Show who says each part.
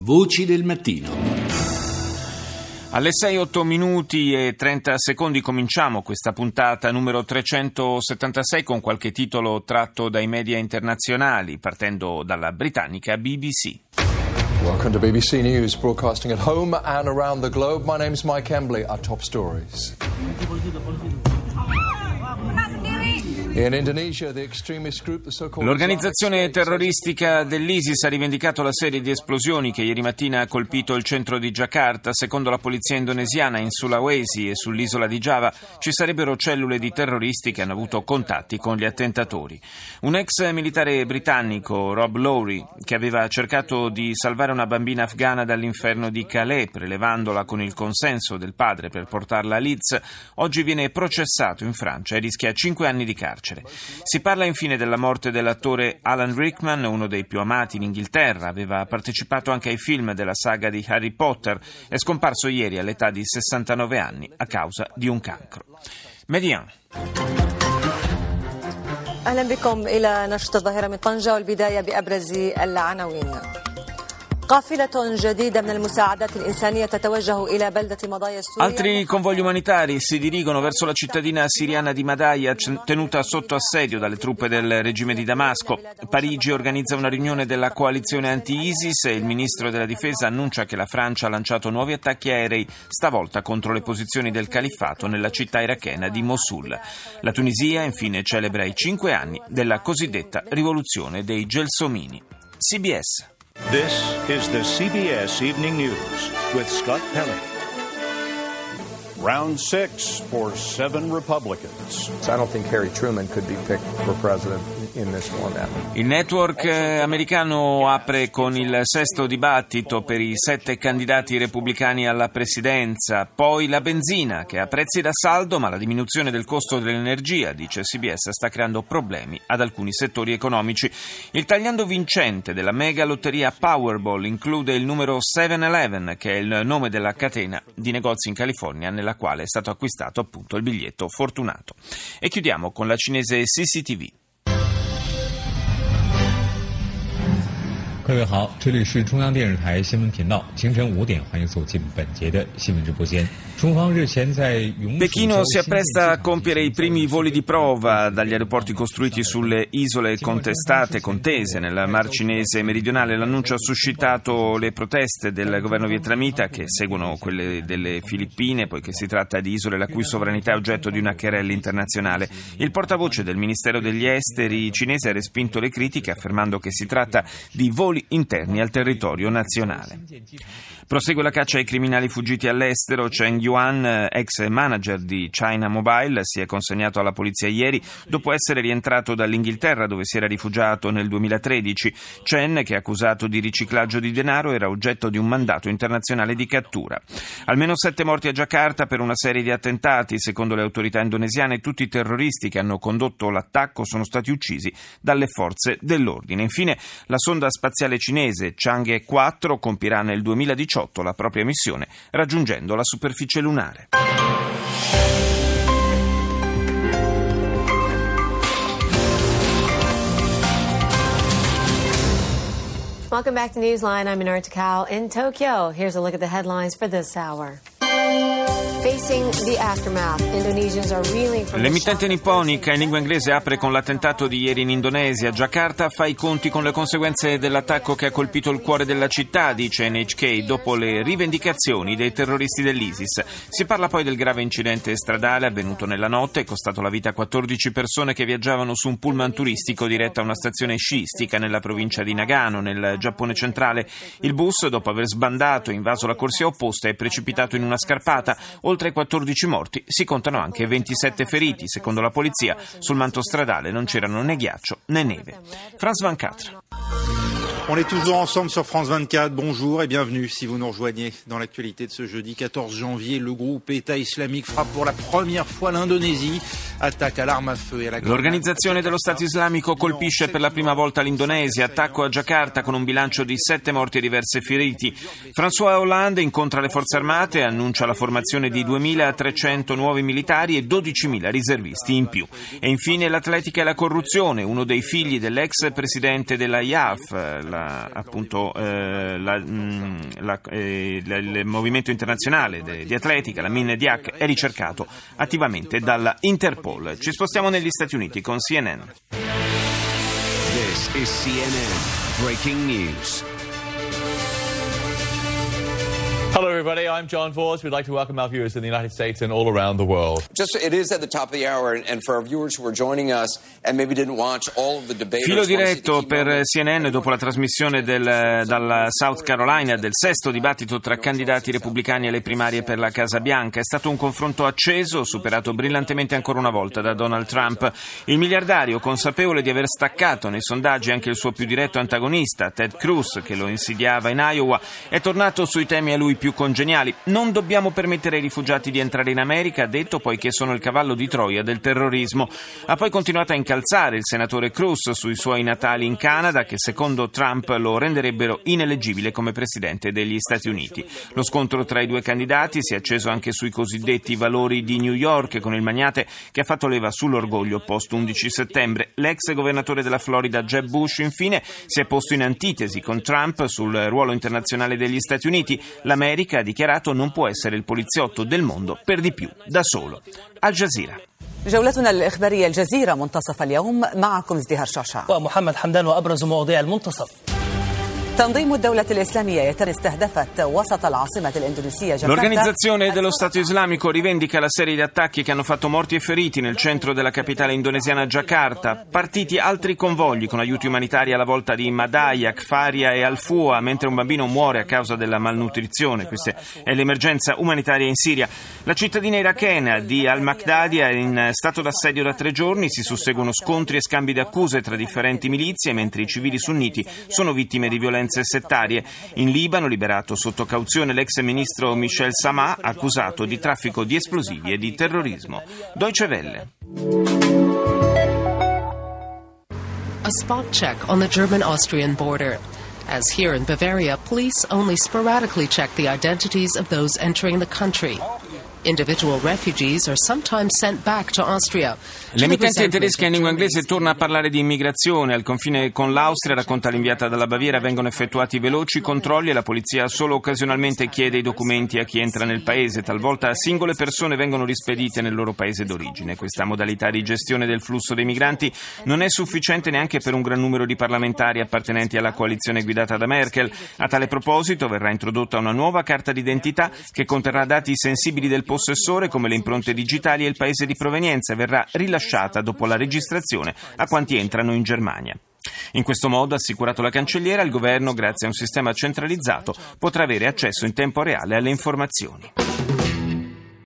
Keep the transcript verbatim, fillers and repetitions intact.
Speaker 1: Voci del mattino.
Speaker 2: Alle sei otto minuti e trenta secondi cominciamo questa puntata numero trecentosettantasei con qualche titolo tratto dai media internazionali, partendo dalla britannica B B C.
Speaker 3: Welcome to B B C News, broadcasting at home and around the globe. My name's Mike Embley. Our top stories.
Speaker 2: L'organizzazione terroristica dell'ISIS ha rivendicato la serie di esplosioni che ieri mattina ha colpito il centro di Giacarta. Secondo la polizia indonesiana, in Sulawesi e sull'isola di Giava ci sarebbero cellule di terroristi che hanno avuto contatti con gli attentatori. Un ex militare britannico, Rob Lowry, che aveva cercato di salvare una bambina afghana dall'inferno di Calais, prelevandola con il consenso del padre per portarla a Leeds, oggi viene processato in Francia e rischia cinque anni di carcere. Si parla infine della morte dell'attore Alan Rickman, uno dei più amati in Inghilterra. Aveva partecipato anche ai film della saga di Harry Potter. È scomparso ieri all'età di sessantanove anni a causa di un cancro. Median.
Speaker 4: أهلا بكم إلى نشرة الظاهرة من طنجة والبداية بأبرز العناوين.
Speaker 2: Altri convogli umanitari si dirigono verso la cittadina siriana di Madaya, tenuta sotto assedio dalle truppe del regime di Damasco. Parigi organizza una riunione della coalizione anti-ISIS e il ministro della difesa annuncia che la Francia ha lanciato nuovi attacchi aerei, stavolta contro le posizioni del califfato nella città irachena di Mosul. La Tunisia infine celebra i cinque anni della cosiddetta rivoluzione dei Gelsomini. C B S.
Speaker 5: This is the C B S Evening News with Scott Pelley. Round six for seven Republicans.
Speaker 3: I don't think Harry Truman could be picked for president in this format.
Speaker 2: Il network americano apre con il sesto dibattito per i sette candidati repubblicani alla presidenza. Poi la benzina, che ha prezzi da saldo, ma la diminuzione del costo dell'energia, dice C B S, sta creando problemi ad alcuni settori economici. Il tagliando vincente della mega lotteria Powerball include il numero sette eleven, che è il nome della catena di negozi in California nella quale è stato acquistato appunto il biglietto fortunato. E chiudiamo con la cinese C C T V.
Speaker 6: 各位好，这里是中央电视台新闻频道，清晨五点，欢迎走进本节的新闻直播间。中方日前在永
Speaker 2: Pechino si appresta a compiere i primi voli di prova dagli aeroporti costruiti sulle isole contestate, contese nel Mar Cinese meridionale. L'annuncio ha suscitato le proteste del governo vietnamita, che seguono quelle delle Filippine, poiché si tratta di isole la cui sovranità è oggetto di una querela internazionale. Il portavoce del Ministero degli Esteri cinese ha respinto le critiche, affermando che si tratta di voli interni al territorio nazionale. Prosegue la caccia ai criminali fuggiti all'estero. Cheng Yuan, ex manager di China Mobile, si è consegnato alla polizia ieri dopo essere rientrato dall'Inghilterra, dove si era rifugiato nel duemilatredici. Chen, che è accusato di riciclaggio di denaro, era oggetto di un mandato internazionale di cattura. Almeno sette morti a Giacarta per una serie di attentati. Secondo le autorità indonesiane, tutti i terroristi che hanno condotto l'attacco sono stati uccisi dalle forze dell'ordine. Infine, la sonda spaziale cinese Chang'e quattro compirà nel duemiladiciotto la propria missione, raggiungendo la superficie lunare.
Speaker 4: Welcome back to Newsline. I'm Minara Takao in Tokyo. Here's a look at the headlines for this hour.
Speaker 2: L'emittente nipponica in lingua inglese apre con l'attentato di ieri in Indonesia. Giacarta fa i conti con le conseguenze dell'attacco che ha colpito il cuore della città, dice N H K, dopo le rivendicazioni dei terroristi dell'ISIS. Si parla poi del grave incidente stradale avvenuto nella notte e costato la vita a quattordici persone che viaggiavano su un pullman turistico diretto a una stazione sciistica nella provincia di Nagano, nel Giappone centrale. Il bus, dopo aver sbandato e invaso la corsia opposta, è precipitato in una scarpata. Oltre ai quattordici morti si contano anche ventisette feriti. Secondo la polizia, sul manto stradale non c'erano né ghiaccio né neve. France ventiquattro.
Speaker 7: On est toujours ensemble sur France vingt-quatre. Bonjour et bienvenue si vous nous rejoignez dans l'actualité de ce jeudi quatorze janvier. Le groupe État islamique frappe pour la première fois l'Indonésie. Attacca all'arma a feu e alla...
Speaker 2: L'organizzazione dello Stato islamico colpisce per la prima volta l'Indonesia. Attacco a Giacarta con un bilancio di sette morti e diversi feriti. François Hollande incontra le forze armate e annuncia la formazione di duemilatrecento nuovi militari e dodicimila riservisti in più. E infine l'atletica e la corruzione. Uno dei figli dell'ex presidente della I A F, la la, appunto eh, la, mh, la, eh, la, il movimento internazionale de, di atletica, la Min Diak, è ricercato attivamente dalla Interpol. Ci spostiamo negli Stati Uniti con C N N.
Speaker 1: This is C N N Breaking News.
Speaker 8: Hello everybody, I'm John Force. We'd like to welcome our viewers in the United States and all around the world.
Speaker 9: Just it is at the top of the hour, and, and for our viewers who are joining us and maybe didn't watch all of the debaters.
Speaker 2: Filo diretto per C N N dopo la trasmissione del, dalla South Carolina del sesto dibattito tra candidati repubblicani alle primarie per la Casa Bianca. È stato un confronto acceso, superato brillantemente ancora una volta da Donald Trump. Il miliardario, consapevole di aver staccato nei sondaggi anche il suo più diretto antagonista, Ted Cruz, che lo insidiava in Iowa, è tornato sui temi a lui più congeniali. Non dobbiamo permettere ai rifugiati di entrare in America, ha detto, poiché sono il cavallo di Troia del terrorismo. Ha poi continuato a incalzare il senatore Cruz sui suoi natali in Canada, che secondo Trump lo renderebbero ineleggibile come presidente degli Stati Uniti. Lo scontro tra i due candidati si è acceso anche sui cosiddetti valori di New York, con il magnate che ha fatto leva sull'orgoglio post undici settembre. L'ex governatore della Florida Jeb Bush, infine, si è posto in antitesi con Trump sul ruolo internazionale degli Stati Uniti. L'America ha dichiarato non può essere il poliziotto del mondo, per di più, da solo. Al Jazeera.
Speaker 10: جولتنا الإخبارية الجزيرة منتصف اليوم معكم ازدهار شعشع
Speaker 11: ومحمد حمدان وأبرز مواضيع المنتصف.
Speaker 10: تنظيم الدولة الإسلامية استهدفت وسط العاصمة الإندونيسية جاكرتا.
Speaker 2: L'organizzazione dello Stato Islamico rivendica la serie di attacchi che hanno fatto morti e feriti nel centro della capitale indonesiana Giacarta. Partiti altri convogli con aiuti umanitari alla volta di Madaya, Kfaria e Al-Fua, mentre un bambino muore a causa della malnutrizione. Questa è l'emergenza umanitaria in Siria. La cittadina irachena di Al-Maqdadi è in stato d'assedio da tre giorni. Si susseguono scontri e scambi di accuse tra differenti milizie, mentre i civili sunniti sono vittime di violenze settarie. In Libano, liberato sotto cauzione l'ex ministro Michel Samah, accusato di traffico di esplosivi e di terrorismo. Deutsche Welle.
Speaker 12: A spot check on the German-Austrian border. As here in Bavaria, police only sporadically check the identities of those entering the country. Individual refugees are sometimes sent back to Austria.
Speaker 2: L'emittente tedesca in lingua inglese torna a parlare di immigrazione. Al confine con l'Austria, racconta l'inviata dalla Baviera, vengono effettuati veloci controlli e la polizia solo occasionalmente chiede i documenti a chi entra nel paese. Talvolta singole persone vengono rispedite nel loro paese d'origine. Questa modalità di gestione del flusso dei migranti non è sufficiente neanche per un gran numero di parlamentari appartenenti alla coalizione guidata da Merkel. A tale proposito verrà introdotta una nuova carta d'identità che conterrà dati sensibili del possessore come le impronte digitali e il paese di provenienza, e verrà rilasciata dopo la registrazione a quanti entrano in Germania. In questo modo, ha assicurato la cancelliera, il governo, grazie a un sistema centralizzato, potrà avere accesso in tempo reale alle informazioni.